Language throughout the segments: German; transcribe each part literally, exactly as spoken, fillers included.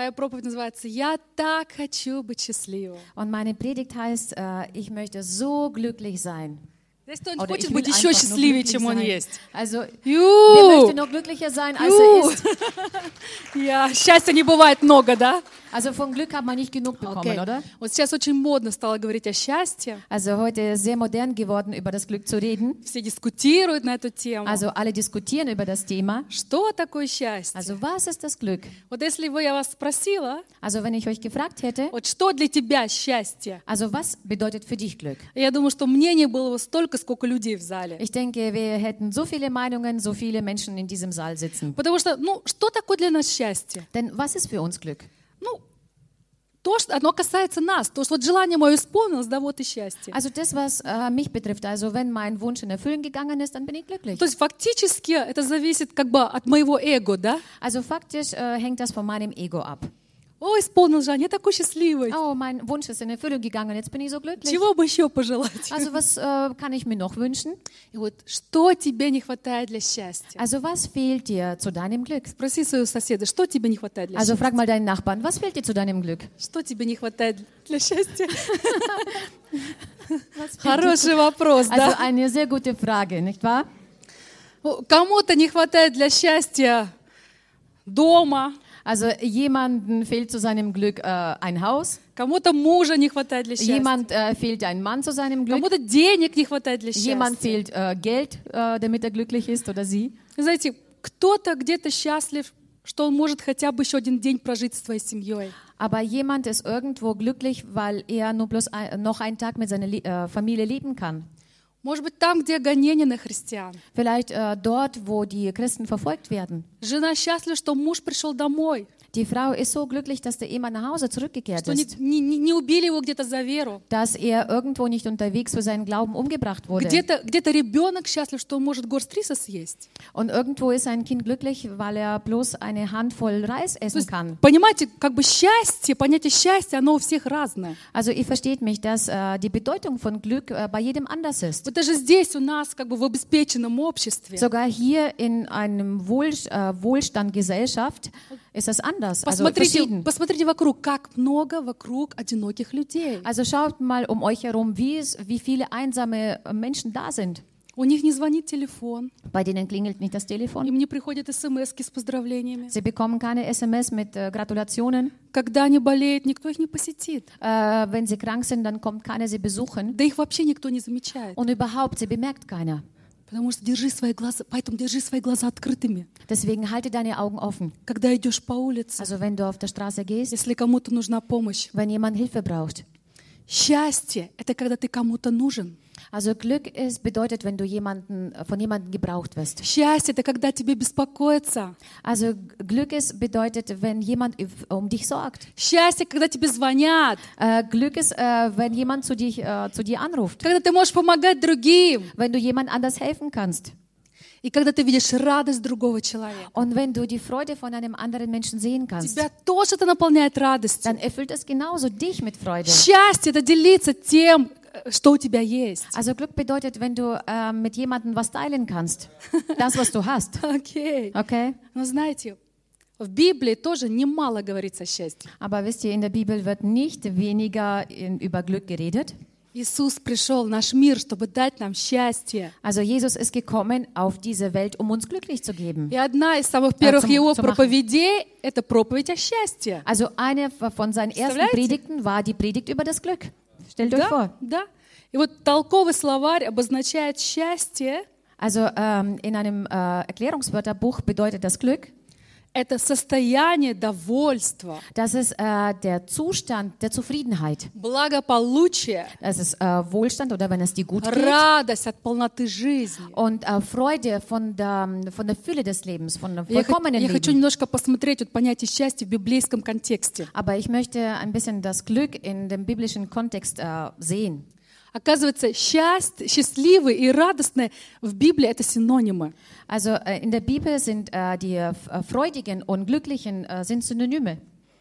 Моя проповедь называется «Я так хочу быть счастливым». Und meine Predigt heißt, äh, ich möchte so glücklich sein. Здесь кто-нибудь Oder хочет ich will быть еще einfach nur счастливее, glücklich чем он sein. есть? Also, wer Ю! möchte noch glücklicher sein, als er Ю! ist? Я, счастья не бывает много, да? Also von Glück hat man nicht genug bekommen, Окей. oder? Вот сейчас очень модно стало говорить о счастье. Also heute ist sehr modern geworden, über das Glück zu reden. Все дискутируют на эту тему. Also alle diskutieren über das Thema. Что такое счастье? Also was ist das Glück? Вот если бы я вас спросила, Also wenn ich euch gefragt hätte, вот что для тебя счастье? also was bedeutet für dich Glück? Я думаю, что мнений было бы столько, сколько людей в зале. Ich denke, wir hätten so viele Meinungen, so viele Menschen in diesem Saal sitzen. Потому что, ну, что такое для нас счастье? Denn was ist für uns Glück? Ну, то, что оно касается нас. То, что вот желание мое исполнилось, да, вот и счастье. Also das, was äh, mich betrifft, also wenn mein Wunsch in Erfüllung gegangen ist, dann bin ich glücklich. То есть фактически это зависит как бы от моего эго, да? Also faktisch äh, hängt das von meinem Ego ab. О, исполнилось желание, я такой счастливый. Oh, mein Wunsch ist in Erfüllung gegangen, jetzt bin ich so glücklich. Чего бы еще пожелать? Also was äh, kann ich mir noch wünschen? И вот что тебе не хватает для счастья? Also was fehlt dir zu deinem Glück? Спроси своего соседа, что тебе не хватает для Also счастья? frag mal deinen Nachbarn, was fehlt dir zu deinem Glück? Что тебе не хватает для счастья? Was fehlt dir Хороший вопрос, zu- Also да? eine sehr gute Frage, nicht wahr? Кому-то не хватает для счастья дома, Also jemanden fehlt zu seinem Glück äh, ein Haus, кому-то мужа не хватает для счастья, jemand äh, fehlt ein Mann zu seinem Glück, кому-то денег не хватает для jemand счастья. fehlt äh, Geld, äh, damit er glücklich ist oder sie. Знаете, кто-то где-то счастлив, что он может хотя бы еще один день прожить со своей семьей. Aber jemand ist irgendwo glücklich, weil er nur bloß ein, noch einen Tag mit seiner Lie- äh, Familie leben kann. Может быть, там, где гонения на христиан. Vielleicht äh, dort, wo die Christen verfolgt werden. Жена счастлива, что муж пришел домой, Die Frau ist so glücklich, dass der Ehemann nach Hause zurückgekehrt что не, ist, не- не- не убили его где-то за веру. dass er irgendwo nicht unterwegs für seinen Glauben umgebracht wurde. Где-то, где-то ребенок счастлив, что он может горсть риса съесть. Und irgendwo ist ein Kind glücklich, weil er bloß eine Handvoll Reis То essen есть, kann. понимаете, как бы счастье, понятие счастья, оно у всех разное. Also ihr versteht mich, dass äh, die Bedeutung von Glück äh, bei jedem anders ist. Вот даже здесь у нас, как бы в обеспеченном обществе, Sogar hier in einem Wohl, äh, Wohlstand Gesellschaft ist das anders, also посмотрите, verschieden. посмотрите вокруг, как много вокруг одиноких людей. Also schaut mal um euch herum, wie, es, wie viele einsame äh, Menschen da sind. У них не звонит телефон, Bei denen klingelt nicht das Telefon. им не приходят смс с поздравлениями. Sie bekommen keine S M S mit äh, Gratulationen. Когда они болеют, никто их не посетит. Äh, wenn sie krank sind, dann kommt keiner sie besuchen. Да их вообще никто не замечает. Und überhaupt, sie bemerkt keiner. Потому что держи свои глаза, поэтому держи свои глаза открытыми. Deswegen halte deine Augen offen. Когда идешь по улице, Also wenn du auf der Straße gehst, если кому-то нужна помощь. wenn jemand Hilfe braucht. Счастье — это когда ты кому-то нужен. Also Glück ist, bedeutet, wenn du jemanden, von jemandem gebraucht wirst. Счастье — это когда тебе беспокоятся. Also Glück ist, bedeutet, wenn jemand if- um dich sorgt. Счастье, когда тебе звонят. Äh, Glück ist, äh, wenn jemand zu, dich, äh, zu dir anruft. Когда ты можешь помогать другим. Wenn du jemand anders helfen kannst. И когда ты видишь радость другого человека. Und wenn du die Freude von einem anderen Menschen sehen kannst, Тебя тоже это наполняет радостью. dann erfüllt es genauso dich mit Freude. Счастье — это делиться тем, что у тебя есть. Also Glück bedeutet, wenn du äh, mit jemandem was teilen kannst. Das, was du hast. Окей. Okay? Но знаете, в Библии тоже немало говорится о счастье. Aber wisst ihr, in der Bibel wird nicht weniger in, über Glück geredet. Иисус пришел в наш мир, чтобы дать нам счастье. Also Jesus ist gekommen auf diese Welt, um uns glücklich zu geben. И одна из самых первых zum- его zu machen. проповедей — это проповедь о счастье. Also eine von seinen ersten Представляете? Predigten war die Predigt über das Glück. Stellt euch Да, vor. да. И вот толковый словарь обозначает счастье Also ähm, in einem äh, Erklärungswörterbuch bedeutet das Glück, — это состояние довольства, das ist äh, der Zustand der Zufriedenheit. благополучия, Das ist äh, Wohlstand oder wenn es dir gut geht. радость от полноты жизни. Und äh, Freude von der, von der Fülle des Lebens, von dem Я, хо- vollkommenen я хочу Leben. немножко посмотреть вот понятие счастья в библейском контексте. Aber ich möchte ein bisschen das Glück in dem biblischen Kontext äh, sehen. Оказывается, счастье, счастливый и радостный в Библии — это синонимы. Also äh, in der Bibel sind äh, die äh, Freudigen und Glücklichen äh, sind Synonyme.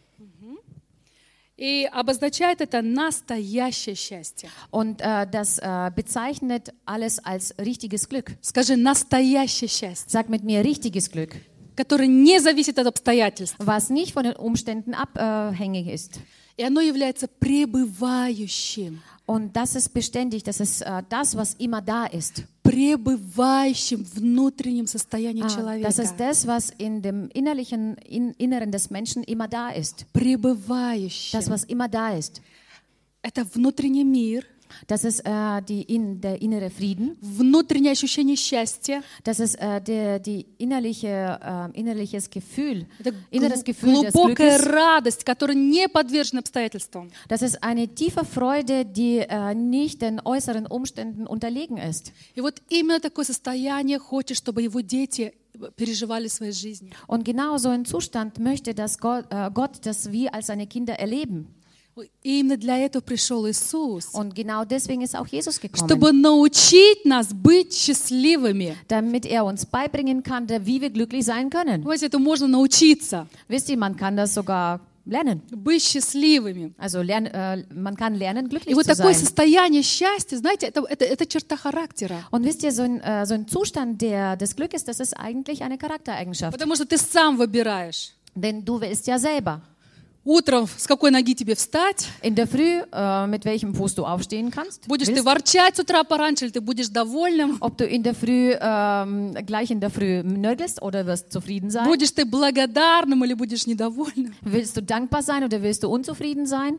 И обозначает это настоящее счастье. Und äh, das äh, bezeichnet alles als richtiges Glück. Скажи, настоящее счастье. Sag mit mir richtiges Glück. которое не зависит от обстоятельств. was nicht von den Umständen abhängig ist. И оно является пребывающим. Und das ist beständig, das ist äh, das, was immer da ist. Пребывающим в внутреннем состоянии Ah, человека. das ist das, was in dem innerlichen in, Inneren des Menschen immer da ist. Пребывающим. Das, was immer da ist. Это внутренний мир, Das ist äh, die in, der innere Frieden. внутреннее ощущение счастья. Das ist äh, der, die innerliche, äh, innerliches Gefühl, Это inneres гл- Gefühl des глубокая Glückes. радость, которая не подвержена обстоятельствам. Das ist eine tiefe Freude, die äh, nicht den äußeren Umständen unterlegen ist. И вот именно такое состояние хочет, чтобы его дети переживали в своей жизни. Und genau so ein Zustand möchte dass Gott, äh, Gott, dass wir als seine Kinder erleben. И именно для этого пришел Иисус, Und genau deswegen ist auch Jesus gekommen, чтобы научить нас быть счастливыми. damit er uns beibringen kann, wie wir glücklich sein können. Знаете, это можно научиться, Wisst ihr, man kann das sogar lernen. быть счастливыми. Also lern, äh, man kann lernen, И glücklich вот zu такое sein. состояние счастья, знаете, это, это, это черта характера. Und wisst ihr, so ein, äh, so ein Zustand der, des Glückes, das ist eigentlich eine Charaktereigenschaft. Потому что ты сам выбираешь. Denn du willst ja selber. Утром с какой ноги тебе встать? In der Früh, äh, mit welchem Fuß du aufstehen kannst. Будешь ты Willst, ворчать с утра пораньше, или ты будешь довольным? ob du in der Früh, ähm, gleich in der Früh nörgelst oder wirst zufrieden sein. Будешь ты благодарным или будешь недовольным? Willst du dankbar sein oder willst du unzufrieden sein?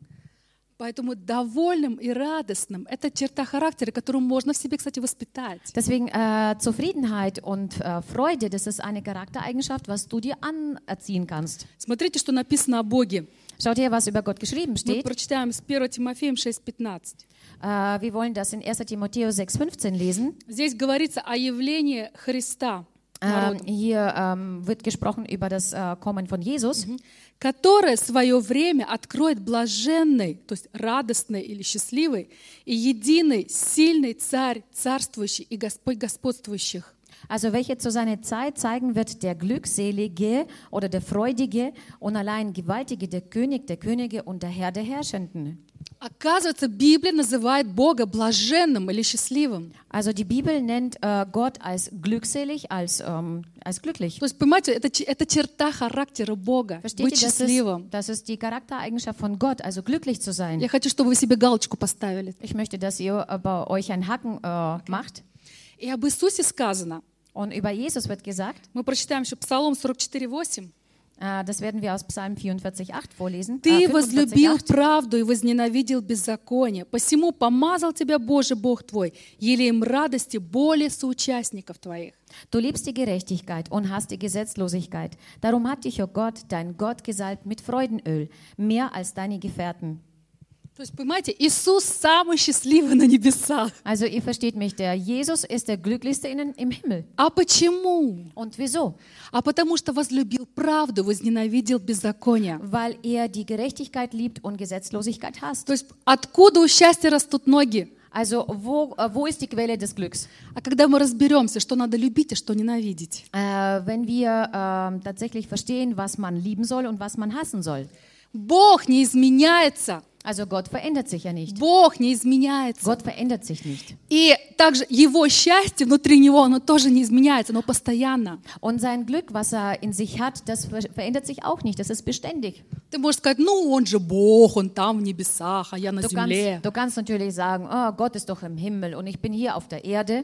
Поэтому довольным и радостным – это черта характера, которую можно в себе, кстати, воспитать. Deswegen äh, Zufriedenheit und äh, Freude, das ist eine Charaktereigenschaft, was du dir anerziehen kannst. Смотрите, что написано о Боге. Schaut her, was über Gott geschrieben Мы steht. прочитаем с первого Тимофеем шесть пятнадцать. Äh, wir wollen das in erster Timotheus sechs fünfzehn lesen. Здесь говорится о явлении Христа, Ähm, hier ähm, wird gesprochen über das äh, Kommen von Jesus, которое в свое время откроет блаженный, то есть радостный или счастливый, и единый, сильный Царь, царствующий и Господь господствующих. also welche zu seiner Zeit zeigen wird der Glückselige oder der Freudige und allein Gewaltige, der König der Könige und der Herr der Herrschenden. Оказывается, Библия называет Бога блаженным или счастливым. Also die Bibel nennt äh, Gott als glückselig, als, ähm, als glücklich. То есть, понимаете, это, ч- это черта характера Бога, Versteht быть ihr, das ist, счастливым. das ist die Charaktereigenschaft von Gott, also glücklich zu sein. Я хочу, чтобы вы себе галочку поставили. Ich möchte, dass ihr äh, bei euch einen Haken äh, macht. И об Иисусе сказано. Und über Jesus wird gesagt, Мы прочитаем еще Псалом сорок четыре восемь. äh, das werden wir aus Psalm vierundvierzig acht vorlesen. Ты Äh, возлюбил fünfundvierzig acht. правду и возненавидел беззаконие. Посему помазал тебя Боже Бог твой, елеем радости более соучастников твоих. Du liebst die Gerechtigkeit und hast die Gesetzlosigkeit. Darum hat dich, o Gott, dein Gott gesalbt mit Freudenöl, mehr als deine Gefährten. То есть, понимаете, Иисус самый счастливый на небесах. Also ihr versteht mich, der Jesus ist der Glücklichste in, im Himmel. А почему? Und wieso? А потому что возлюбил правду, возненавидел беззаконие. Weil er die Gerechtigkeit liebt und Gesetzlosigkeit hasst. То есть, откуда у счастья растут ноги? Also wo, äh, wo ist die Quelle des Glücks? А когда мы разберемся, что надо любить, а что ненавидеть. Äh, wenn wir äh, tatsächlich verstehen, was man lieben soll und was man hassen soll. Бог не изменяется. Also Gott verändert sich ja nicht. Бог не изменяется. Gott verändert sich nicht. И также его счастье внутри него, оно тоже не изменяется, оно постоянно. Und sein Glück, was er in sich hat, das ver verändert sich auch nicht. Das ist beständig. Ты можешь сказать, ну он же Бог, он там в небесах, а я на Du земле. kannst, du kannst natürlich sagen, oh, Gott ist doch im Himmel und ich bin hier auf der Erde.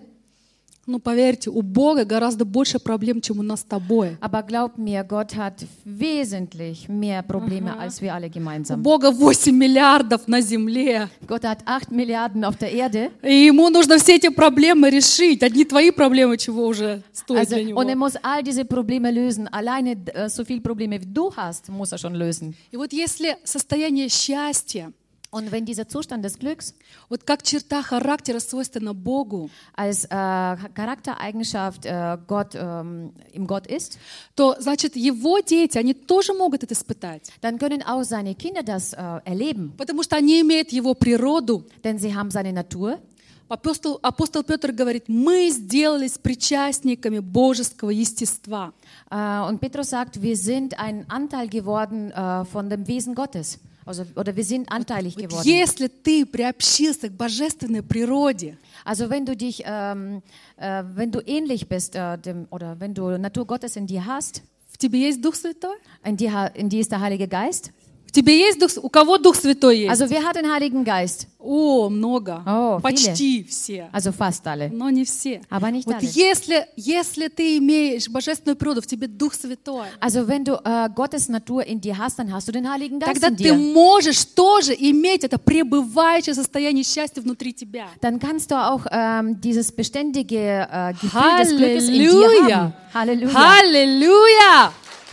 Ну поверьте, у Бога гораздо больше проблем, чем у нас с тобой. Aber glaub mir, Gott hat wesentlich mehr Probleme als wir alle У gemeinsam. Бога восемь миллиардов на земле. Gott hat acht Milliarden auf der Erde. И ему нужно все эти проблемы решить. Одни твои проблемы, чего уже стоит Also, для него. und er muss all diese Probleme lösen. Alleine äh, so viele Probleme wie du hast, muss er schon lösen. И вот если состояние счастья, Und wenn dieser Zustand des Glücks вот как черта характера свойственна Богу, als äh, Charaktereigenschaft äh, Gott, ähm, im Gott ist, то, значит, его дети, они тоже могут это испытать. dann können auch seine Kinder das äh, erleben. Потому что они имеют его природу. Denn sie haben seine Natur. Апостол, апостол Петр говорит, мы сделались причастниками божеского естества. Äh, und Petrus sagt, wir sind ein Anteil geworden äh, von dem Wesen Gottes. Also, oder wir sind anteilig Вот geworden. если ты приобщился к божественной природе, Also wenn du dich, ähm, äh, wenn du ähnlich bist, äh, dem, oder wenn du Natur Gottes in dir hast, в тебе есть Дух Святой? in dir, ha- in dir ist der Heilige Geist. В тебе есть Дух? У кого Дух Святой есть? Also wer hat den Heiligen Geist? О, много. О, Почти все. Also fast alle. Но не все. Aber nicht Вот alle. если, если ты имеешь божественную природу, в тебе Дух Святой, Also wenn du äh, Gottes Natur in dir hast, dann hast du den Heiligen Geist тогда in ты dir. можешь тоже иметь это пребывающее состояние счастья внутри тебя. Dann kannst du auch ähm, dieses beständige äh, Gefühl des Glückes in dir Halleluja! haben. Halleluja. Halleluja!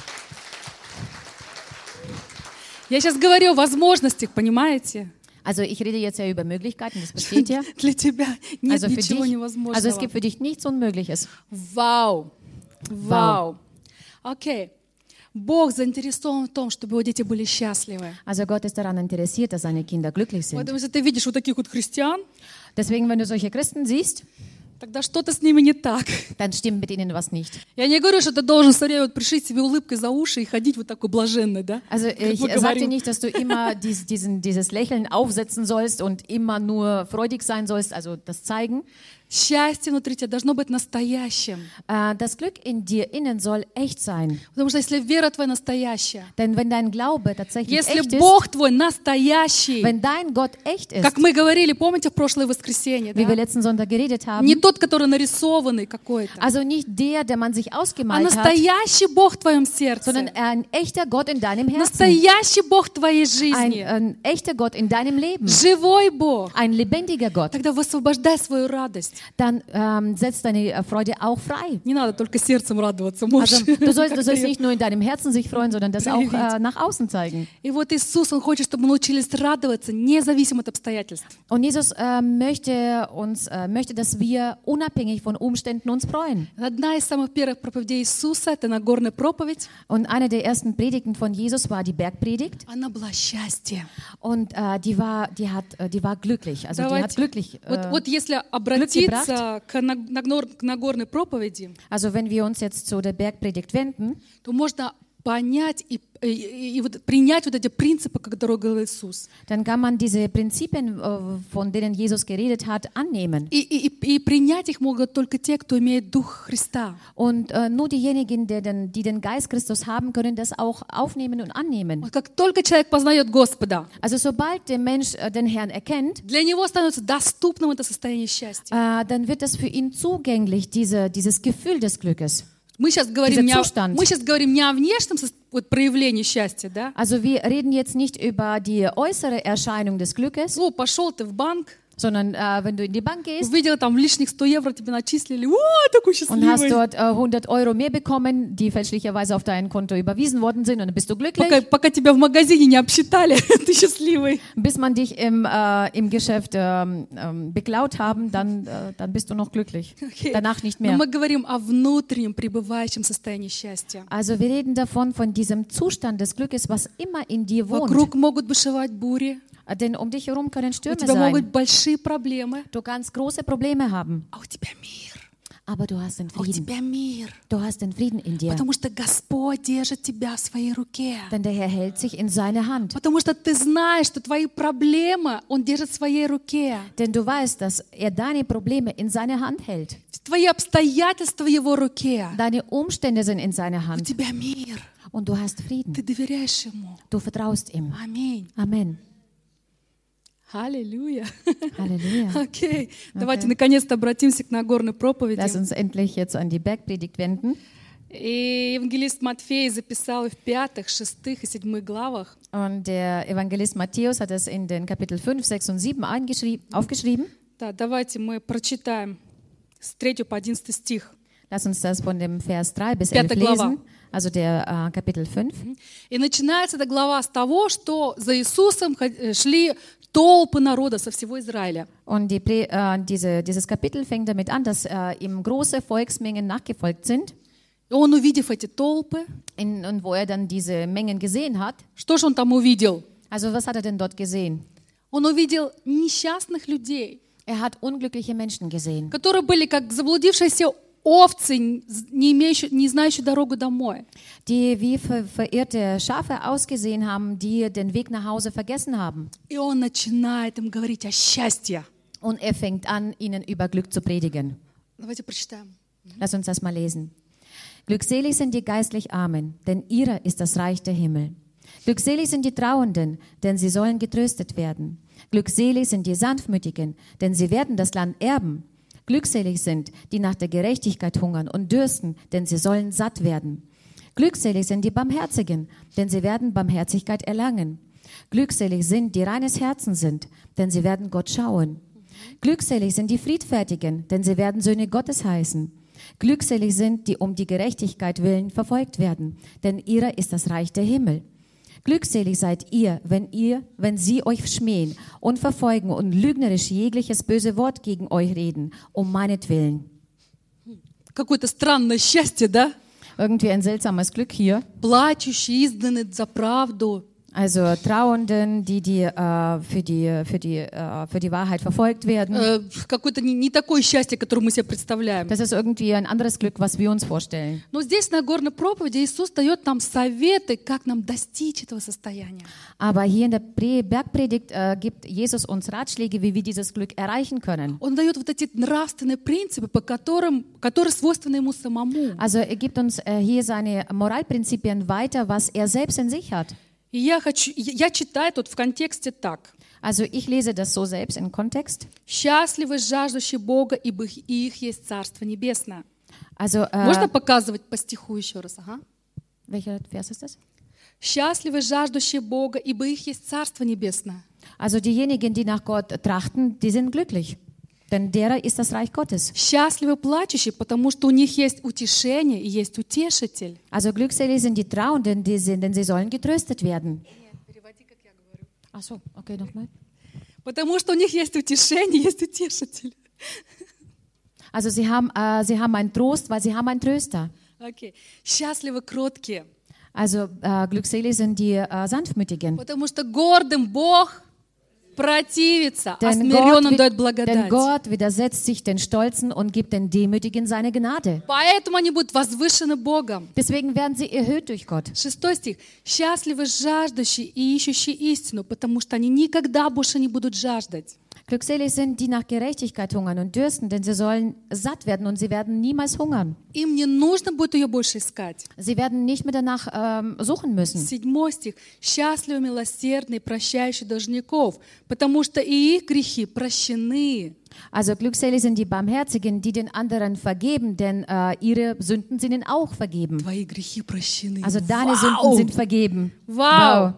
Я сейчас говорю о возможностях, понимаете? Also ich rede jetzt ja über Möglichkeiten, das versteht ihr? Для тебя нет Also für ничего dich, невозможного. also es gibt für dich nichts Unmögliches. Вау! Вау! Окей. Бог заинтересован в том, чтобы его дети были счастливы. Also Gott ist daran interessiert, dass seine Kinder glücklich sind. Поэтому, если ты видишь вот таких вот христиан, Deswegen, wenn du solche Christen siehst, тогда что-то с ними не так. dann stimmt mit ihnen was nicht. Я не говорю, что ты должен все время вот пришить себе улыбкой за уши и ходить вот такой блаженный, да? Also Как ich мы sage dir говорим. nicht, dass du immer dies, diesen, dieses Lächeln aufsetzen sollst und immer nur freudig sein sollst, also das zeigen. Счастье внутри тебя должно быть настоящим. Äh, Das Glück in dir innen soll echt sein. Потому что если вера твоя настоящая, Denn wenn dein Glaube tatsächlich если echt ist, Бог твой настоящий, wenn dein Gott echt ist, как мы говорили, помните, в прошлое воскресенье, wie wir да? letzten Sonntag geredet haben, Не тот, который нарисованный какой-то, also nicht der, der man sich а ausgemalt hat, настоящий Бог в твоем сердце. sondern ein echter Gott in deinem Herzen. Настоящий Бог твоей Ein, жизни. ein echter Gott in deinem Leben. Живой Бог. Ein lebendiger Gott. Тогда высвобождай свою радость. Dann ähm, setzt deine äh, Freude auch frei. Не надо только сердцем радоваться. Можешь Also du sollst, du как-то sollst её nicht nur in deinem Herzen sich freuen, sondern das auch äh, nach außen zeigen. И вот Иисус, Он хочет, чтобы мы научились радоваться, независимо от обстоятельств. Und Jesus äh, möchte uns, äh, möchte, dass wir unabhängig von Umständen uns freuen. Одна из самых первых проповедей Иисуса, это Нагорная проповедь, Und eine der ersten Predigten von Jesus war die Bergpredigt. она была счастье. Und äh, die war, die hat, äh, die war glücklich. Also die hat Давайте. glücklich. Вот, Äh, вот если обратиться к Наг- Нагор- к Нагорной проповеди, also wenn wir uns jetzt zu der Bergpredigt wenden, то можно понять и, и, и вот принять вот эти принципы, которые говорил Иисус. dann kann man diese Prinzipien, äh, von denen Jesus geredet hat, annehmen. И, и, и- и принять их могут только те, кто имеет Дух Христа. Und äh, nur diejenigen, die den, die den Geist Christus haben, können das auch aufnehmen und annehmen. Вот как только человек познает Господа, Also sobald der Mensch äh, den Herrn erkennt, для него становится доступным это состояние счастья. äh, dann wird das für ihn zugänglich, diese, dieses Gefühl des Glückes. Мы сейчас говорим, не о, Zustand. мы сейчас говорим не о внешнем сос- вот, проявлении счастья, да? Also wir reden jetzt nicht über die äußere Erscheinung des Glückes, Ну, пошел ты в банк, sondern äh, wenn du in die Bank gehst увидел там лишних сто евро, тебе начислили, о, такой und hast счастливый. dort äh, hundert Euro mehr bekommen, die fälschlicherweise auf dein Konto überwiesen worden sind, und dann bist du glücklich. Пока, пока тебя в магазине не обсчитали, ты счастливый. Bis man dich im, äh, im Geschäft ähm, ähm, beklaut haben, dann, äh, dann bist du noch glücklich. Окей. Danach nicht Но mehr. мы говорим о внутреннем пребывающем состоянии счастья. Also wir reden davon, von diesem Zustand des Glückes, was immer in dir wohnt. Вокруг могут бушевать бури, Äh, Denn um dich herum können у Stürme тебя могут sein. быть большие проблемы, Du kannst große Probleme haben, а у тебя мир, aber du hast den а у Frieden. тебя мир. Du hast den Frieden in dir. Потому что Господь держит тебя в своей руке. Denn der Herr hält sich in seine Hand. Потому что ты знаешь, что твои проблемы Он держит в своей руке. Denn du weißt, dass er deine Probleme in seine Hand hält. Твои обстоятельства в Его руке. Deine Umstände sind in seiner У Hand. тебя мир. Und du hast Ты Frieden. доверяешь Ему. Du vertraust ihm. Аминь. Amen. Аллилуйя. Halleluja. Окей. Давайте наконец-то обратимся к Нагорной проповеди. Lass uns endlich jetzt an die Bergpredigt wenden. И евангелист Матфей записал в пятых, шестых и седьмых главах. Und der Evangelist Matthäus hat es in den Kapitel fünf, sechs und sieben eingeschrieben, aufgeschrieben. Да, давайте мы прочитаем с третьего по одиннадцатый стих. Lass uns das von dem Vers drei bis elf Пятая глава. lesen. Also der äh, Kapitel fünf. И начинается эта глава с того, что за Иисусом ход- шли толпы народа со всего Израиля. Und die, Pre- äh, diese, dieses Kapitel fängt damit an, dass äh, ihm große Volksmengen nachgefolgt sind. И он, увидев эти толпы, In, und wo er dann diese Mengen gesehen hat. что же он там увидел? Also was hat er denn dort gesehen? Он увидел несчастных людей, Er hat unglückliche Menschen gesehen, которые были как заблудившиеся овцы, не имеющие, не знающие дорогу домой. die wie ver verirrte Schafe ausgesehen haben, die den Weg nach Hause vergessen haben. И он начинает им говорить о счастье. Und er fängt an, ihnen über Glück zu predigen. Давайте прочитаем. Lass uns das mal lesen. Glückselig sind die geistlich Armen, denn ihrer ist das Reich der Himmel. Glückselig sind die Trauernden, denn sie sollen getröstet werden. Glückselig sind die Sanftmütigen, denn sie werden das Land erben. Glückselig sind, die nach der Gerechtigkeit hungern und dürsten, denn sie sollen satt werden. Glückselig sind die Barmherzigen, denn sie werden Barmherzigkeit erlangen. Glückselig sind, die reines Herzen sind, denn sie werden Gott schauen. Glückselig sind die Friedfertigen, denn sie werden Söhne Gottes heißen. Glückselig sind, die um die Gerechtigkeit willen verfolgt werden, denn ihrer ist das Reich der Himmel. Glückselig seid ihr, wenn ihr, wenn sie euch schmähen und verfolgen und lügnerisch jegliches böse Wort gegen euch reden, um meinetwillen. Какое-то странное счастье, да? Irgendwie ein seltsames Glück hier. Плачущие, изгнаны за правду. Also Trauernden, die, die, äh, für, die, für, die, äh, für die Wahrheit verfolgt werden. Э, Какое-то не, не такое счастье, которое мы себе представляем. Das ist irgendwie ein anderes Glück, was wir uns vorstellen. Но здесь на Горной проповеди Иисус дает нам советы, как нам достичь этого состояния. Aber hier in der Pre- Bergpredigt äh, gibt Jesus uns Ratschläge, wie wir dieses Glück erreichen können. Он дает вот эти нравственные принципы, по которым, которые свойственны ему самому. Also er gibt uns äh, hier seine Moralprinzipien weiter, was er selbst in sich hat. И я, хочу, я читаю тут в контексте так. Also ich lese das so selbst im Kontext. «Счастливы жаждущие Бога, ибо их- их есть Царство Небесное». Also, äh, Можно показывать по стиху еще раз? Ага. welcher Vers ist das? «Счастливы жаждущие Бога, ибо их есть Царство Небесное». Also diejenigen, die nach Gott trachten, die sind glücklich, denn derer ist das Reich Gottes. Счастливы плачущие, потому что у них есть утешение и есть утешитель. Also glückselig sind die Trauernden, die sind, denn sie sollen getröstet werden. Ach so, okay, nochmal. Потому что у них есть утешение, есть утешитель. Also sie haben, äh, sie haben einen Trost, weil sie haben einen Tröster. Окей. Счастливы кроткие, Also äh, glückselig sind die äh, Sanftmütigen. потому что гордым Бог противится, а Denn Gott, смиренным wi- дает denn благодать. Gott widersetzt sich den Stolzen und gibt den Demütigen seine Gnade. Поэтому они будут возвышены Богом. Deswegen werden sie erhöht durch Gott. Шестой стих. «Счастливы жаждущие и ищущие истину, потому что они никогда больше не будут жаждать». Glückselig sind, die nach Gerechtigkeit hungern und dürsten, denn sie sollen satt werden und sie werden niemals hungern. Им не нужно будет ее больше искать. Sie werden nicht mehr danach ähm, suchen müssen. Седьмой стих. «Счастливы милосердные, прощающие должников, потому что и их грехи прощены». Also glückselig sind die Barmherzigen, die den anderen vergeben, denn äh, ihre Sünden sind ihnen auch vergeben. Твои грехи прощены. Also deine Вау! Sünden sind vergeben. Вау!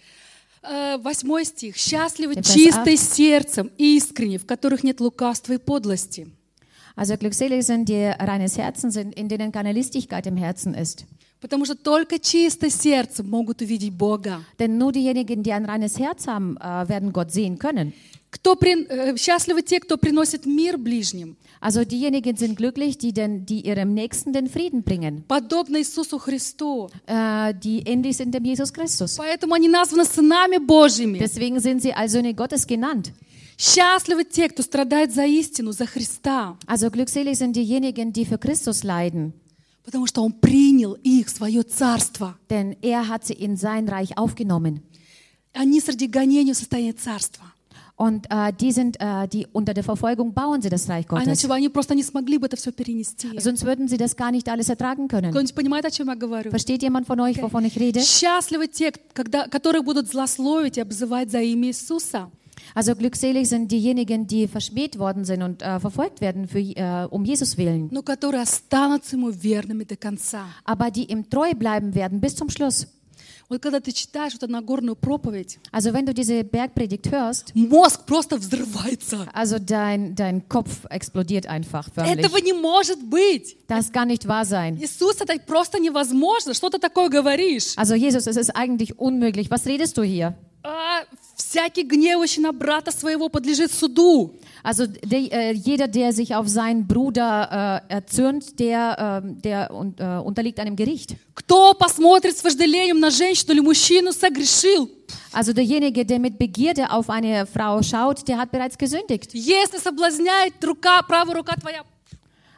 Э, Восьмой стих. «Счастливы Der Vers чистые сердцем, искренне, в которых нет лукавства и подлости». Also glückselig sind die reines Herzen sind, in denen keine Listigkeit im Herzen ist. Потому что только чистое сердце могут увидеть Бога. Denn nur diejenigen, die ein reines Herz haben, äh, werden Gott sehen können. Кто при- э, Счастливы те, кто приносит мир ближним, Also diejenigen sind glücklich, die, den, die ihrem Nächsten den Frieden bringen, подобно Иисусу Христу. äh, die ähnlich sind dem Jesus Christus. Поэтому они названы сынами Божьими. Deswegen sind sie als Söhne Gottes genannt. Счастливы те, кто страдает за истину, за Христа, Also glückselig sind diejenigen, die für Christus leiden, потому что Он принял их в свое царство. denn er hat sie in sein Reich aufgenommen. Они среди гонений в состоянии царства. Und äh, die sind, äh, die unter der Verfolgung bauen sie das Reich А Gottes. иначе бы они просто не смогли бы это все перенести. Sonst würden sie das gar nicht alles ertragen können. Кто-нибудь понимает, о чем я говорю? Versteht jemand von euch, wovon ich rede? Счастливы те, когда, которые будут злословить и обзывать за имя Иисуса. Also glückselig sind diejenigen, die verschmäht worden sind und äh, verfolgt werden für, äh, um Jesus willen, Но которые останутся Ему верными до конца. aber die ihm treu bleiben werden bis zum Schluss. Вот когда ты читаешь вот эту Нагорную проповедь, Also wenn du diese Bergpredigt hörst, мозг просто взрывается. also dein, dein Kopf explodiert einfach förmlich. Этого не может быть. Das kann nicht wahr sein. Иисус, это просто невозможно. Что ты такое говоришь? Also Jesus, es ist eigentlich unmöglich. Was redest du hier? А, всякий гневающий на брата своего подлежит суду. Also der, äh, jeder, der sich auf seinen Bruder äh, erzürnt, der, äh, der un, äh, unterliegt einem Gericht. Кто посмотрит с вожделением на женщину или мужчину, согрешил. Also derjenige, der mit Begierde auf eine Frau schaut, der hat bereits gesündigt. Если соблазняет рука, правая рука твоя,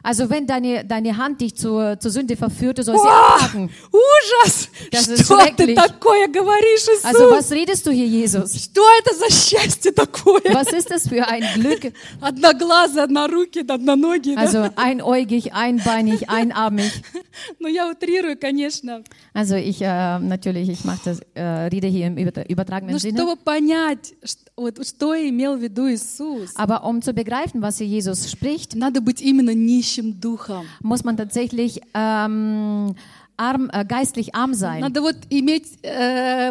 Also wenn deine, deine Hand dich zur, zur Sünde verführt, du sollst sie О, abhaken. ужас! Das ist Что ты schrecklich. такое говоришь, Иисус? Also was redest du hier, Jesus? Что это за счастье такое? Was ist das für ein Glück? Одноглазый, однорукий, одноногий. Да? Also einäugig, einbeinig, einarmig. Ну, я утрирую, конечно. Also ich, äh, natürlich, ich mache das, äh, rede hier im über- übertragenen Но Sinne. чтобы понять, ш- вот, что имел в виду Иисус, Aber um zu begreifen, was hier Jesus spricht, надо быть именно нищим духом. muss man tatsächlich ähm, arm, äh, geistlich arm sein. Надо вот иметь э,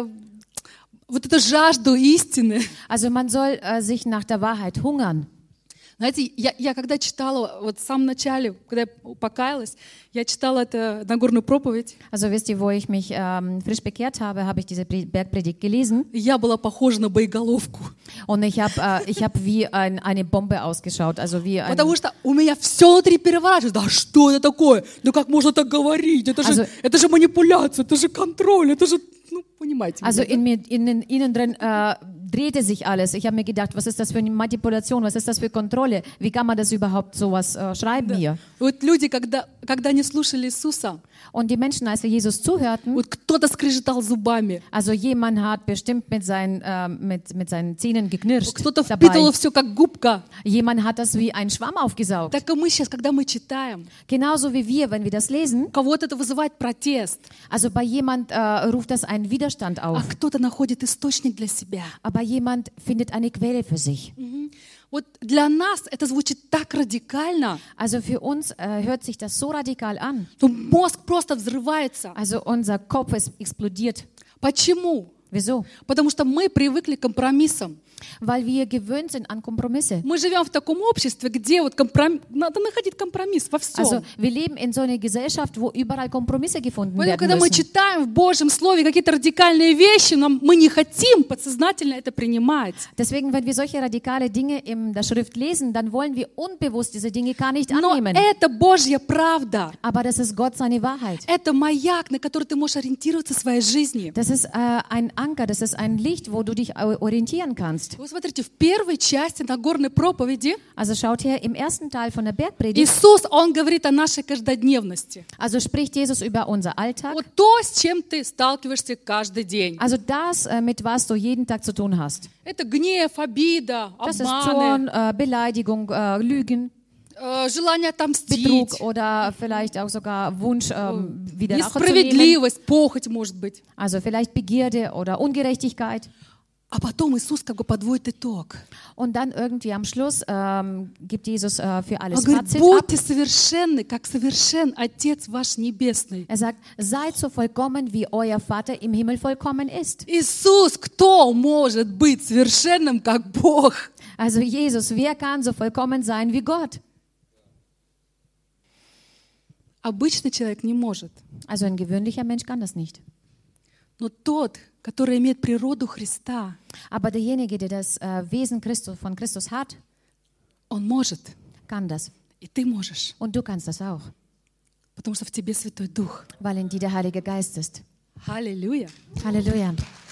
вот эту жажду истины. Also man soll äh, sich nach der Wahrheit hungern. Знаете, я, я когда читала, вот в самом начале, когда я покаялась, я читала это Нагорную проповедь, Also wisst ihr, wo ich mich ähm, frisch bekehrt habe, habe ich diese Pre- Bergpredigt gelesen и я была похожа на боеголовку. und ich habe äh, ich hab wie ein, eine Bombe ausgeschaut, also wie ein, Потому что у меня все внутри переворачивалось. Да что это такое? Да как можно так говорить? Это же, Also- это же манипуляция, это же контроль, это же, ну, понимаете. also меня, да? in mir, in, innen drin äh, drehte sich alles. Ich habe mir gedacht, was ist das für eine Manipulation, was ist das für Kontrolle? Wie kann man das überhaupt sowas äh, schreiben hier? Вот люди, когда, когда они слушали Иисуса, Und die Menschen, als sie Jesus zuhörten, вот кто-то скрежетал зубами, also jemand hat bestimmt mit seinen, äh, mit, mit seinen Zähnen geknirscht кто-то dabei. впитывал все как губка. Jemand hat das wie ein Schwamm aufgesaugt. Так и мы сейчас, когда мы читаем, Genauso wie wir, wenn wir das lesen. у кого-то это вызывает протест, Also bei jemand äh, ruft das einen Widerstand а auf, кто-то находит источник для себя. aber jemand findet eine Quelle für sich. Мгм. Вот для нас это звучит так радикально, Also für uns äh, hört sich das so radikal an. что мозг просто взрывается. Also unser Kopf ist explodiert. Почему? Wieso? Потому что мы привыкли к компромиссам. Weil wir gewöhnt sind an Kompromisse. Мы живем в таком обществе, где вот компром... надо находить компромисс во всем. Also wir leben in so einer Gesellschaft, wo überall Kompromisse gefunden Поэтому, werden когда мы müssen. читаем в Божьем Слове какие-то радикальные вещи, нам, мы не хотим подсознательно это принимать. Deswegen, wenn wir solche radikale Dinge in der Schrift lesen, dann wollen wir unbewusst diese Dinge gar nicht Но annehmen. это Божья правда. Aber das ist Gott seine Wahrheit. Это маяк, на который ты можешь ориентироваться в своей жизни. Das ist äh, ein Anker, das ist ein Licht, wo du dich au- orientieren kannst. Вы смотрите, в первой части Нагорной проповеди Also schaut her, im ersten Teil von der Bergpredigt, Иисус, Он говорит о нашей каждодневности. also spricht Jesus über unser Alltag, Вот то, с чем ты сталкиваешься каждый день. also das, äh, mit was du jeden Tag zu tun hast. Это гнев, обида, Das ist обманы, Zorn, äh, Beleidigung, äh, Lügen, э, желание отомстить, Betrug oder vielleicht auch sogar Wunsch, ähm, wieder Rache zu nehmen. несправедливость, похоть, может быть. Also vielleicht Begierde oder Ungerechtigkeit. А потом Иисус как бы подводит итог. Und dann irgendwie am Schluss ähm, gibt Jesus äh, für Он alles говорит, Fazit ab. будьте совершенны, как совершен Отец ваш Небесный. Er sagt, seid so vollkommen, wie euer Vater im Himmel vollkommen ist. Иисус, кто может быть совершенным, как Бог? Also Jesus, wer kann so vollkommen sein wie Gott? Обычный человек не может. Also ein gewöhnlicher Mensch kann das nicht. Но тот, который имеет природу Христа, Aber derjenige, der das äh, Wesen Christus, von Christus hat, он может. kann das. И ты можешь. Und du kannst das auch, Потому что в тебе Святой Дух. weil in dir der Heilige Geist ist. Аллилуйя. Halleluja.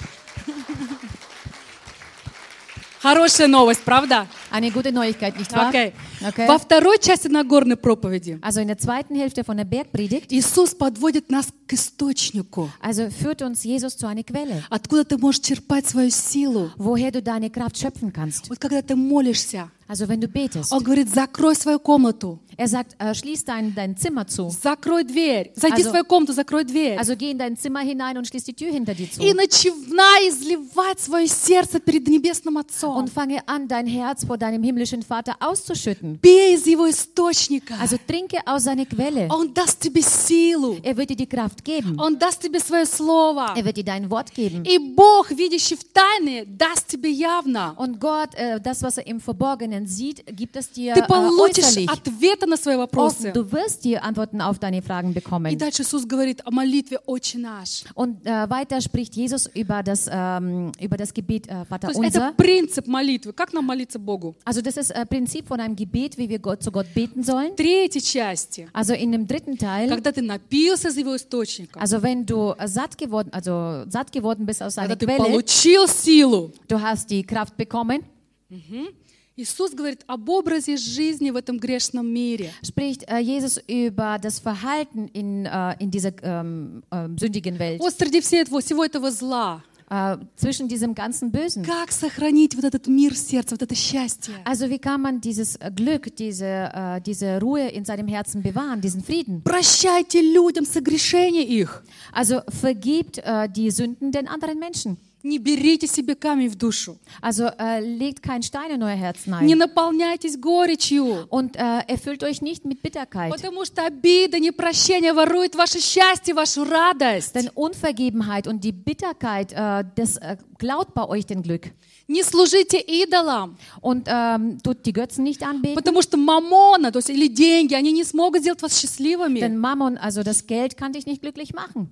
Хорошая новость, правда? Eine gute Neuigkeit, nicht wahr? Окей. Okay. Во второй части Нагорной проповеди Also in der zweiten Hälfte von der Bergpredigt, Иисус подводит нас к источнику, also führt uns Jesus zu einer Quelle, откуда ты можешь черпать свою силу. woher du deine Kraft schöpfen kannst. Вот когда ты молишься, Also wenn du betest. Он говорит, закрой свою комнату, Er sagt, äh, schließ dein, dein Zimmer zu. закрой дверь, зайди Also- в свою комнату, закрой дверь. Also geh in dein Zimmer hinein und schließ die Tür hinter dir zu. И начинай изливать свое сердце перед Небесным Отцом. Und fange an, dein Herz vor deinem himmlischen Vater auszuschütten. Пей из Его источника. Also trinke aus seiner Quelle. Он даст тебе силу. Er wird dir die Kraft geben. Он даст тебе свое слово. Er wird dir dein Wort geben. И Бог, видящий в тайне, даст тебе явно. Und Gott, äh, das, was er im Verborgenen sieht, gibt es dir Ты äh, получишь äußerlich. ответы на свои вопросы. Offen. Du wirst dir Antworten auf deine Fragen И bekommen. дальше Иисус говорит о молитве «Отче наш». Und äh, weiter spricht Jesus über das, ähm, über das Gebet äh, То Vater есть это unser. принцип молитвы. Как нам молиться Богу? Also das ist äh, Prinzip von einem Gebet, wie wir Gott, zu Gott beten sollen. В третьей части, Also in dem dritten Teil, когда ты напился из Его источника, also wenn du äh, satt geworden, also satt geworden bist aus когда seiner ты Quelle, получил силу, du hast die Kraft bekommen, Иисус говорит об образе жизни в этом грешном мире. Spricht äh, Jesus über das Verhalten in, äh, in dieser ähm, äh, sündigen Welt, Вот среди всего этого, всего этого зла. äh, zwischen diesem ganzen Bösen. Как сохранить вот этот мир в сердце, вот это счастье? Also wie kann man dieses äh, Glück, diese, äh, diese Ruhe in seinem Herzen bewahren, diesen Frieden? Прощайте людям согрешения их. Also vergibt äh, die Sünden den anderen Menschen. Не берите себе камень в душу. Also äh, legt keinen Stein in euer Herz Не hinein наполняйтесь горечью. und äh, erfüllt euch nicht mit Bitterkeit. Потому что обида, непрощение ворует ваше счастье, вашу радость. Denn Unvergebenheit und die Bitterkeit, äh, das äh, klaut bei euch den Glück. Не служите идолам. Und ähm, tut die Götzen nicht anbeten. Потому что мамона, то есть или деньги, они не смогут сделать вас счастливыми. Denn Mammon, also das Geld, kann dich nicht glücklich machen.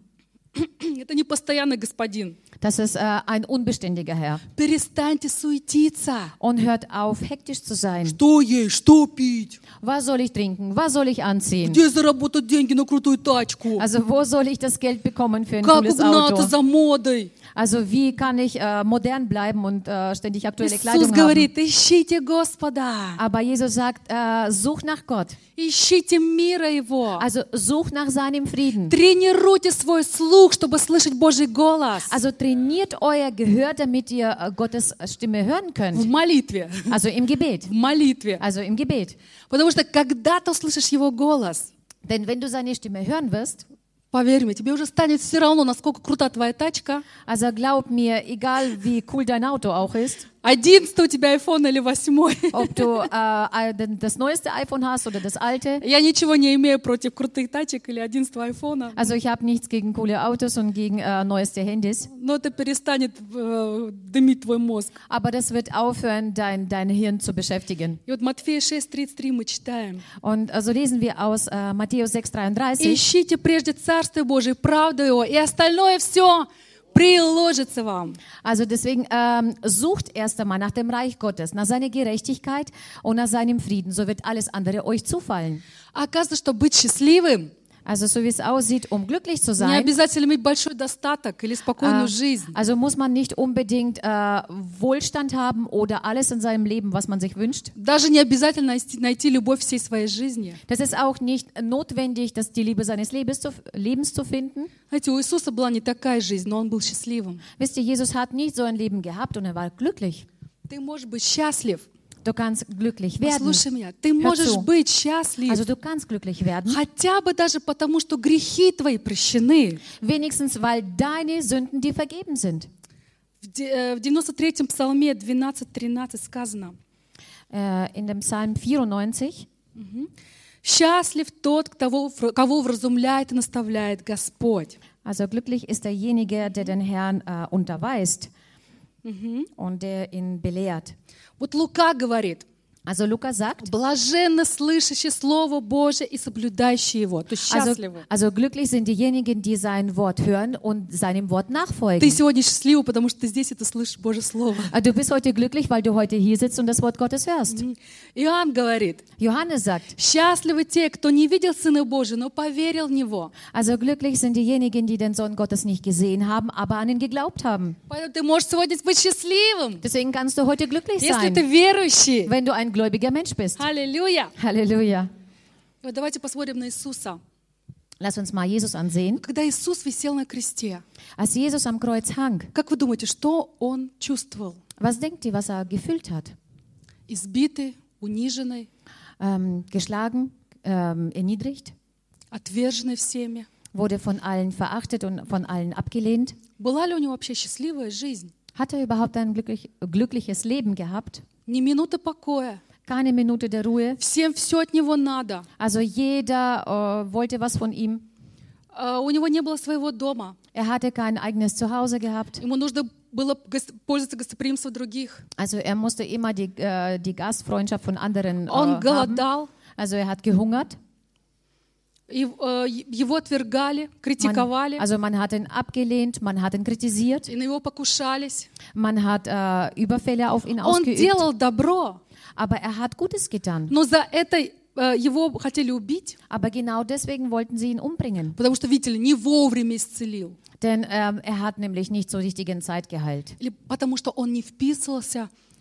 Это не постоянный господин. Das ist äh, ein unbeständiger Herr. Перестаньте суетиться. Und hört auf, hektisch zu sein. Что есть, что пить? Was soll ich trinken? Was soll ich anziehen? Где заработать деньги на крутую тачку? Also wo soll ich das Geld bekommen für ein Как cooles угнаться Auto? за модой? Also wie kann ich äh, modern bleiben und äh, ständig aktuelle Иисус Kleidung haben? говорит, ищите Господа. Aber Jesus sagt, äh, such nach Gott. Ищите мира Его. Also such nach seinem Frieden. Тренируйте свой слух, чтобы слышать Божий голос. Also trainiert euer Gehör, damit ihr äh, Gottes Stimme hören В könnt. молитве. Also im Gebet. В молитве. Also im Gebet. Потому что когда ты услышишь Его голос, Denn wenn du seine Stimme hören wirst, поверь мне, тебе уже станет все равно, насколько крута твоя тачка. also glaub mir, egal wie cool dein Auto auch ist, Одиннадцатый у тебя iPhone или восьмой. ob du äh, das neueste iPhone hast oder das alte. Я ничего не имею против крутых тачек или одиннадцатого айфона. Also ich habe nichts gegen coole Autos und gegen äh, neueste Handys. Но это перестанет äh, дымить твой мозг. Aber das wird aufhören, dein, dein Hirn zu beschäftigen. И вот Матфея шесть тридцать три мы читаем. Und so also lesen wir aus äh, Matthäus sechs dreiunddreißig. Ищите прежде Царство Божие, правду Его, и остальное все приложится вам. Also deswegen ähm, sucht erst einmal nach dem Reich Gottes, nach seiner Gerechtigkeit und nach seinem Frieden. So wird alles andere euch zufallen. А оказывается, что быть счастливым Also so wie es aussieht, um glücklich zu не sein, обязательно иметь большой достаток или спокойную äh, жизнь. also muss man nicht unbedingt äh, Wohlstand haben oder alles in seinem Leben, was man sich wünscht. Даже не обязательно найти, найти любовь всей своей жизни. Das ist auch nicht notwendig, dass die Liebe seines Lebens zu, Lebens zu finden. Знаете, у Иисуса была не такая жизнь, но Он был счастливым. Wisst ihr, Jesus hat nicht so ein Leben gehabt und er war glücklich. Ты можешь быть счастлив. Du kannst glücklich werden. Послушай меня, ты можешь zu. быть счастлив. Also du kannst glücklich werden, Хотя бы даже потому, что грехи твои прощены. wenigstens weil deine Sünden dir vergeben sind. В де- э, в девяносто третьем псалме двенадцать тринадцать сказано: Äh, in dem Psalm vierundneunzig. «Счастлив тот, кого, кого вразумляет и наставляет Господь». Also glücklich ist derjenige, der den Herrn äh, unterweist und der ihn belehrt. Вот Лука говорит: Also Lukas sagt, блаженно слышащие Слово Божие и соблюдающие его. То есть also, счастливы. also glücklich sind diejenigen, die sein Wort hören und seinem Wort Ты nachfolgen. сегодня счастлива, потому что ты здесь это слышишь Божье Слово. Also du bist heute glücklich, weil du heute hier sitzt und das Wort Gottes hörst. Иоанн говорит: Johannes sagt, счастливы те, кто не видел Сына Божия, но поверил в Него. also glücklich sind diejenigen, die den Sohn Gottes nicht gesehen haben, aber an ihn geglaubt haben. Поэтому ты можешь сегодня быть счастливым, Deswegen kannst du heute glücklich если ты sein, верующий. wenn du ein gläubiger Mensch bist. Аллилуйя! Halleluja. Вот давайте посмотрим на Иисуса. Lass uns mal Jesus ansehen. Когда Иисус висел на кресте, Als Jesus am Kreuz hang, как вы думаете, что Он чувствовал? was denkt ihr, was er gefühlt hat? Избитый, униженный, Ähm, geschlagen, ähm, erniedrigt, отверженный всеми. wurde von allen verachtet und von allen abgelehnt. Была ли у него вообще счастливая жизнь? Hat er überhaupt ein glücklich, glückliches Leben gehabt? Ни минуты покоя. Keine Minute der Ruhe. Всем все от него надо. Also jeder äh, wollte was von ihm. А, У него не было своего дома. Er hatte kein eigenes Zuhause gehabt. Ему нужно было гос- пользоваться гостеприимством других. Also er musste immer die, äh, die Gastfreundschaft von anderen äh, Он haben. голодал. Also er hat gehungert. И, э, Его отвергали, Man, критиковали. also man hat ihn abgelehnt, man hat ihn kritisiert, И на него покушались. man hat äh, Überfälle auf ihn Он ausgeübt. делал добро, Aber er hat Gutes getan. но за это э, его хотели убить, Aber genau deswegen wollten sie ihn umbringen. потому что, видите ли, не вовремя исцелил. Denn ähm, er hat nämlich nicht zur richtigen Zeit geheilt. Или потому что он не вписывался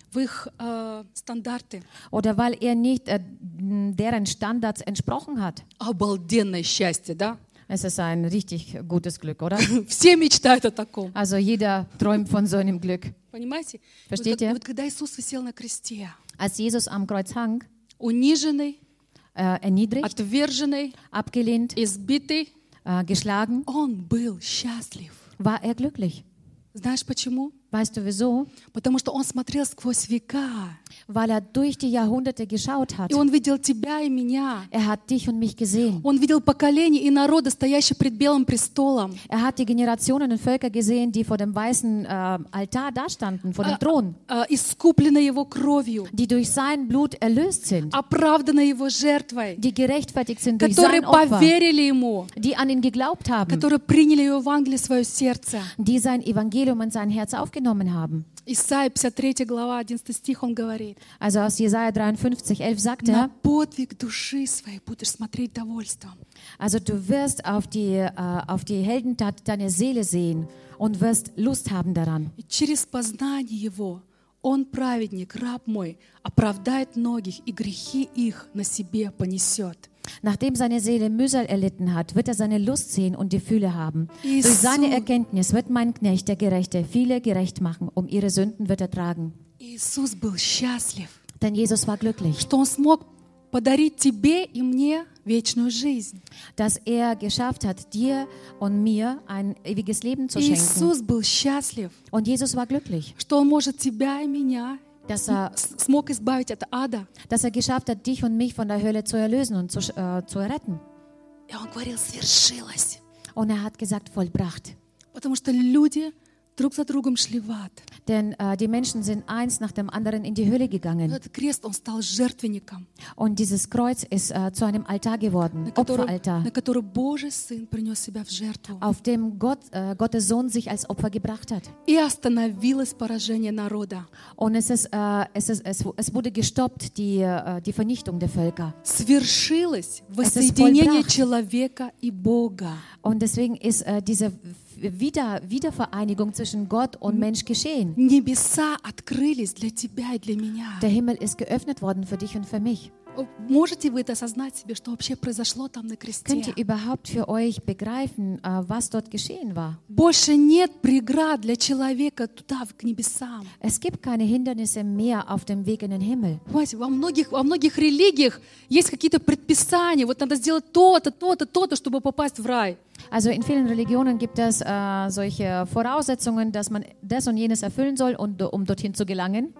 в их э, стандарты. oder weil er nicht äh, deren Standards entsprochen hat. Обалденное счастье, да? Es ist ein richtig gutes Glück, oder? Все мечтают о таком. Also jeder träumt von so einem Glück. Понимаете? Вот, Versteht как- ihr? вот когда Иисус висел на кресте, Als Jesus am Kreuz hang, униженный, äh, erniedrigt, отверженный, abgelehnt, избитый, äh, geschlagen, он был счастлив. war er glücklich. Знаешь почему? Weißt du wieso? Потому что он смотрел сквозь века. Weil er durch die Jahrhunderte geschaut hat. И он видел тебя и меня. Er hat dich und mich gesehen. Он видел поколения и народы, стоящие пред белым престолом. Er hat die Generationen und Völker gesehen, die vor dem weißen äh, Altar dastanden, vor dem Thron, Э, Искупленные его кровью, die durch sein Blut erlöst sind, оправданные его жертвой, die gerechtfertigt sind durch которые sein Opfer, поверили ему, die an ihn geglaubt haben, которые приняли его Евангелие в свое сердце. die sein Evangelium in sein Herz aufgenommen haben. Исайя пятьдесят третья глава, одиннадцатый стих, он говорит: Also aus Jesaja dreiundfünfzig, elf sagt «На er, подвиг души своей будешь смотреть довольством». also du wirst auf die, äh, auf die Heldentat deiner Seele sehen und wirst Lust haben daran. И через познание его он, праведник, раб мой, оправдает многих, и грехи их на себе понесет. Nachdem seine Seele Mühsal erlitten hat, wird er seine Lust sehen und die Fülle haben. Jesus. Durch seine Erkenntnis wird mein Knecht, der Gerechte, viele gerecht machen. Um ihre Sünden wird er tragen. Иисус был счастлив, Denn Jesus war glücklich, что он смог подарить тебе и мне вечную жизнь. dass er geschafft hat, dir und mir ein ewiges Leben zu schenken. Иисус был счастлив, Und Jesus war glücklich, что он может тебя и меня dass er, с- смог избавить от ада. dass er geschafft hat, dich und mich von der Hölle zu erlösen und zu, äh, zu erretten. И он говорил: свершилось. Und er hat gesagt, vollbracht. Потому что люди друг за другом шли в ад. Denn äh, die Menschen sind eins nach dem anderen in die Hölle gegangen. Этот крест, он стал жертвенником, Und dieses Kreuz ist äh, zu einem Altar geworden, на который, Opferaltar, на который Божий Сын принес себя в жертву. auf dem Gott, äh, Gottes Sohn sich als Opfer gebracht hat. И остановилось поражение народа. Und es, ist, äh, es, ist, es, es wurde gestoppt, die, äh, die Vernichtung der Völker. Свершилось ist воссоединение vollbracht. человека и Бога. Und deswegen ist äh, diese Wieder, Wiedervereinigung zwischen Gott und Mensch geschehen. Небеса открылись для тебя и для меня. Der Himmel ist geöffnet worden für dich und für mich. Можете вы это осознать себе, что вообще произошло там на кресте? Könnt ihr überhaupt für euch begreifen, äh, was dort geschehen war? Больше нет преград для человека туда, к небесам. Es gibt keine Hindernisse mehr auf dem Weg in den Himmel. Понимаете, во многих, во многих религиях есть какие-то предписания. Вот надо сделать то-то, то-то, то-то, чтобы попасть в рай. Also in vielen Religionen gibt es äh, solche Voraussetzungen, dass man das und jenes erfüllen soll, und, um dorthin zu gelangen.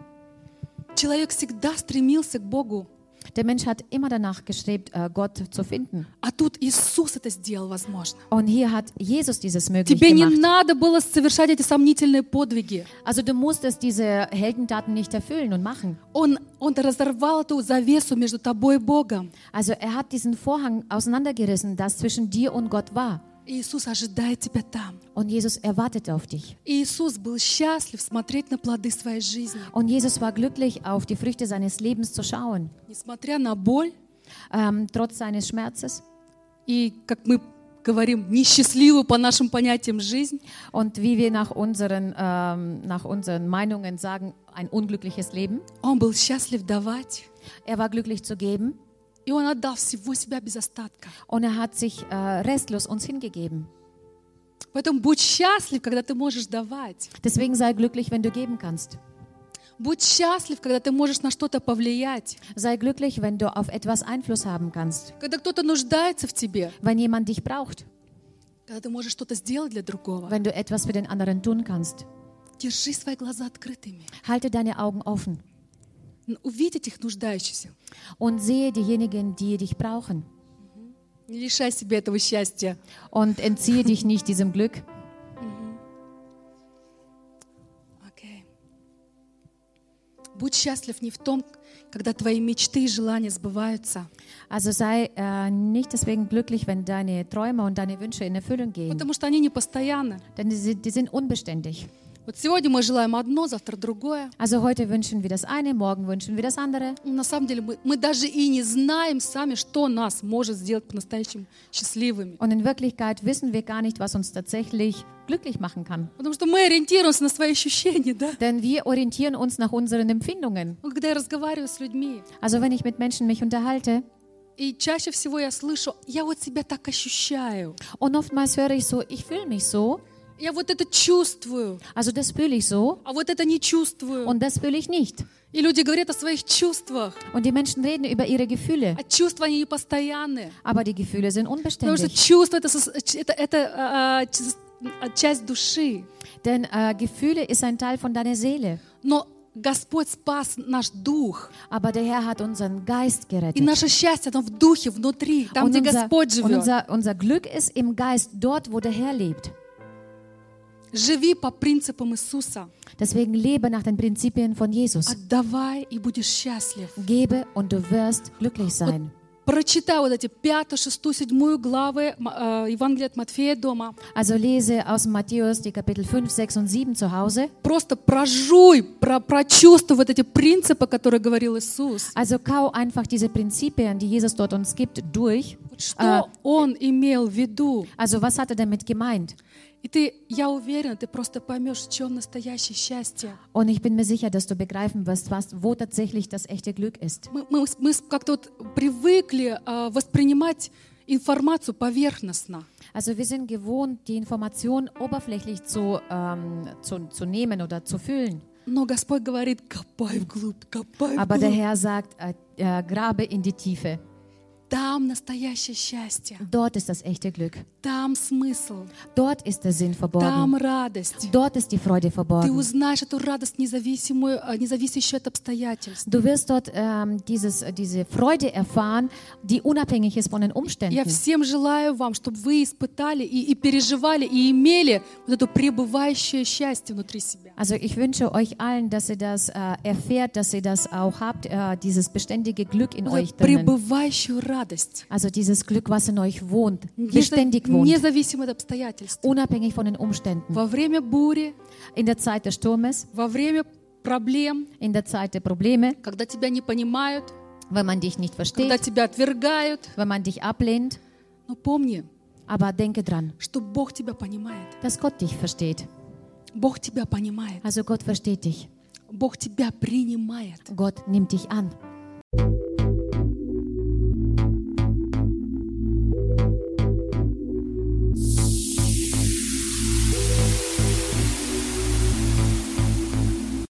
Человек всегда стремился к Богу. Der Mensch hat immer danach gestrebt, äh, Gott zu finden. А тут Иисус это сделал возможно. Und hier hat Jesus dieses möglich Тебе не gemacht. надо было совершать эти сомнительные подвиги. Also du musstest diese Heldentaten nicht erfüllen und machen. Он, он разорвал эту завесу между тобой и Богом. Also er hat diesen Vorhang auseinandergerissen, das zwischen dir und Gott war. Иисус ожидает тебя там. Und Jesus erwartet auf dich. Иисус был счастлив смотреть на плоды своей жизни. Und Jesus war glücklich, auf die Früchte seines Lebens zu schauen. Несмотря на боль Ähm, trotz seines Schmerzes. и, как мы говорим, несчастливую по нашим понятиям жизнь, Und wie wir nach unseren, ähm, nach unseren Meinungen sagen, ein unglückliches Leben. он был счастлив давать. Er war glücklich zu geben. И он отдал всего себя без остатка. Und er hat sich äh, restlos uns hingegeben. Поэтому будь счастлив, когда ты можешь давать. Deswegen sei glücklich, wenn du geben kannst. Будь счастлив, когда ты можешь на что-то повлиять. Sei glücklich, wenn du auf etwas Einfluss haben kannst. Когда кто-то нуждается в тебе. Wenn jemand dich braucht. Когда ты можешь что-то сделать для другого. Wenn du etwas für den anderen tun kannst. Держи свои глаза открытыми. Halte deine Augen offen. Увидь этих нуждающихся. Und sehe diejenigen, die dich brauchen. Не лишай себя этого счастья. Und entziehe dich nicht diesem Glück. Okay. Будь счастлив не в том, когда твои мечты и желания сбываются. Also sei äh, nicht deswegen glücklich, wenn deine Träume und deine Wünsche in Erfüllung gehen. Потому что они не постоянны. Denn die sind, die sind unbeständig. Вот сегодня мы желаем одно, завтра другое. Also heute wünschen wir das eine, morgen wünschen wir das andere. Но на самом деле мы, мы даже и не знаем сами, что нас может сделать по-настоящему счастливыми. Und in Wirklichkeit wissen wir gar nicht, was uns tatsächlich glücklich machen kann. Потому что мы ориентируемся на свои ощущения, да? Denn wir orientieren uns nach unseren Empfindungen. Но когда я разговариваю с людьми, Also wenn ich mit Menschen mich unterhalte, и чаще всего я слышу, я вот себя так ощущаю, und oftmals höre ich so, ich fühle mich so, я вот это чувствую, also das fühle ich so а вот это не чувствую. und das fühle ich nicht. И люди говорят о своих чувствах, Und die Menschen reden über ihre Gefühle, а чувства они непостоянные. aber die Gefühle sind Потому что unbeständig. чувство это, сос- это, это а, а, часть души. Denn äh, Gefühle ist ein Teil von deiner Seele. Но Господь спас наш дух. Aber der Herr hat unseren Geist И gerettet. наше счастье, оно в духе, внутри, там, Und где unser, Господь und живет. unser, unser Glück ist im Geist, dort, wo der Herr lebt. Живи по принципам Иисуса. Deswegen lebe nach den Prinzipien von Jesus. Отдавай, и будешь счастлив. Gebe und du wirst glücklich sein. Прочитай вот эти пятую, шестую, седьмую главы э, Евангелия от Матфея дома. Also lese aus Matthäus die Kapitel fünf, sechs und sieben zu Hause. Просто прожуй, про, прочувствуй вот эти принципы, которые говорил Иисус. Also kau einfach diese Prinzipien, die Jesus dort uns gibt, durch. Вот что Он имел в виду. Also was hat er damit gemeint? И ты, я уверена, ты просто поймешь, в чем настоящее счастье. Und ich bin mir sicher, dass du begreifen wirst, was, wo tatsächlich das echte Glück ist. Мы, мы, мы как-то вот привыкли э, воспринимать информацию поверхностно. Also wir sind gewohnt, die Information oberflächlich zu, ähm, zu, zu nehmen oder zu fühlen. Но Господь говорит, копай вглубь, копай Aber der вглубь. Herr sagt, äh, äh, grabe in die Tiefe. Там настоящее счастье. Dort ist das echte Glück. Там смысл. Dort ist der Sinn Там verborgen. радость. Dort ist die Freude Ты verborgen. узнаешь эту радость, независимую, э, независящую от обстоятельств. Du wirst dort ähm, dieses, diese Freude erfahren, die unabhängig ist von den Я Umständen. всем желаю вам, чтобы вы испытали и, и переживали, и имели вот это пребывающее счастье внутри себя. Also ich wünsche euch allen, dass ihr das äh, erfährt, dass ihr das auch habt, äh, dieses beständige Glück in Вот euch эту drinnen. пребывающую радость. Also dieses Glück, was in euch wohnt, Неза- beständig wohnt, Независимо от обстоятельств. unabhängig von den Umständen. Во время бури, In der Zeit des Sturmes, во время проблем, in der Zeit der Probleme, когда тебя не понимают, wenn man dich nicht когда versteht, тебя отвергают. wenn man dich ablehnt. Но помни, Aber denke dran, что Бог тебя понимает. dass Gott dich versteht. Бог тебя понимает. Also Gott versteht dich. Бог тебя принимает. Gott nimmt dich an.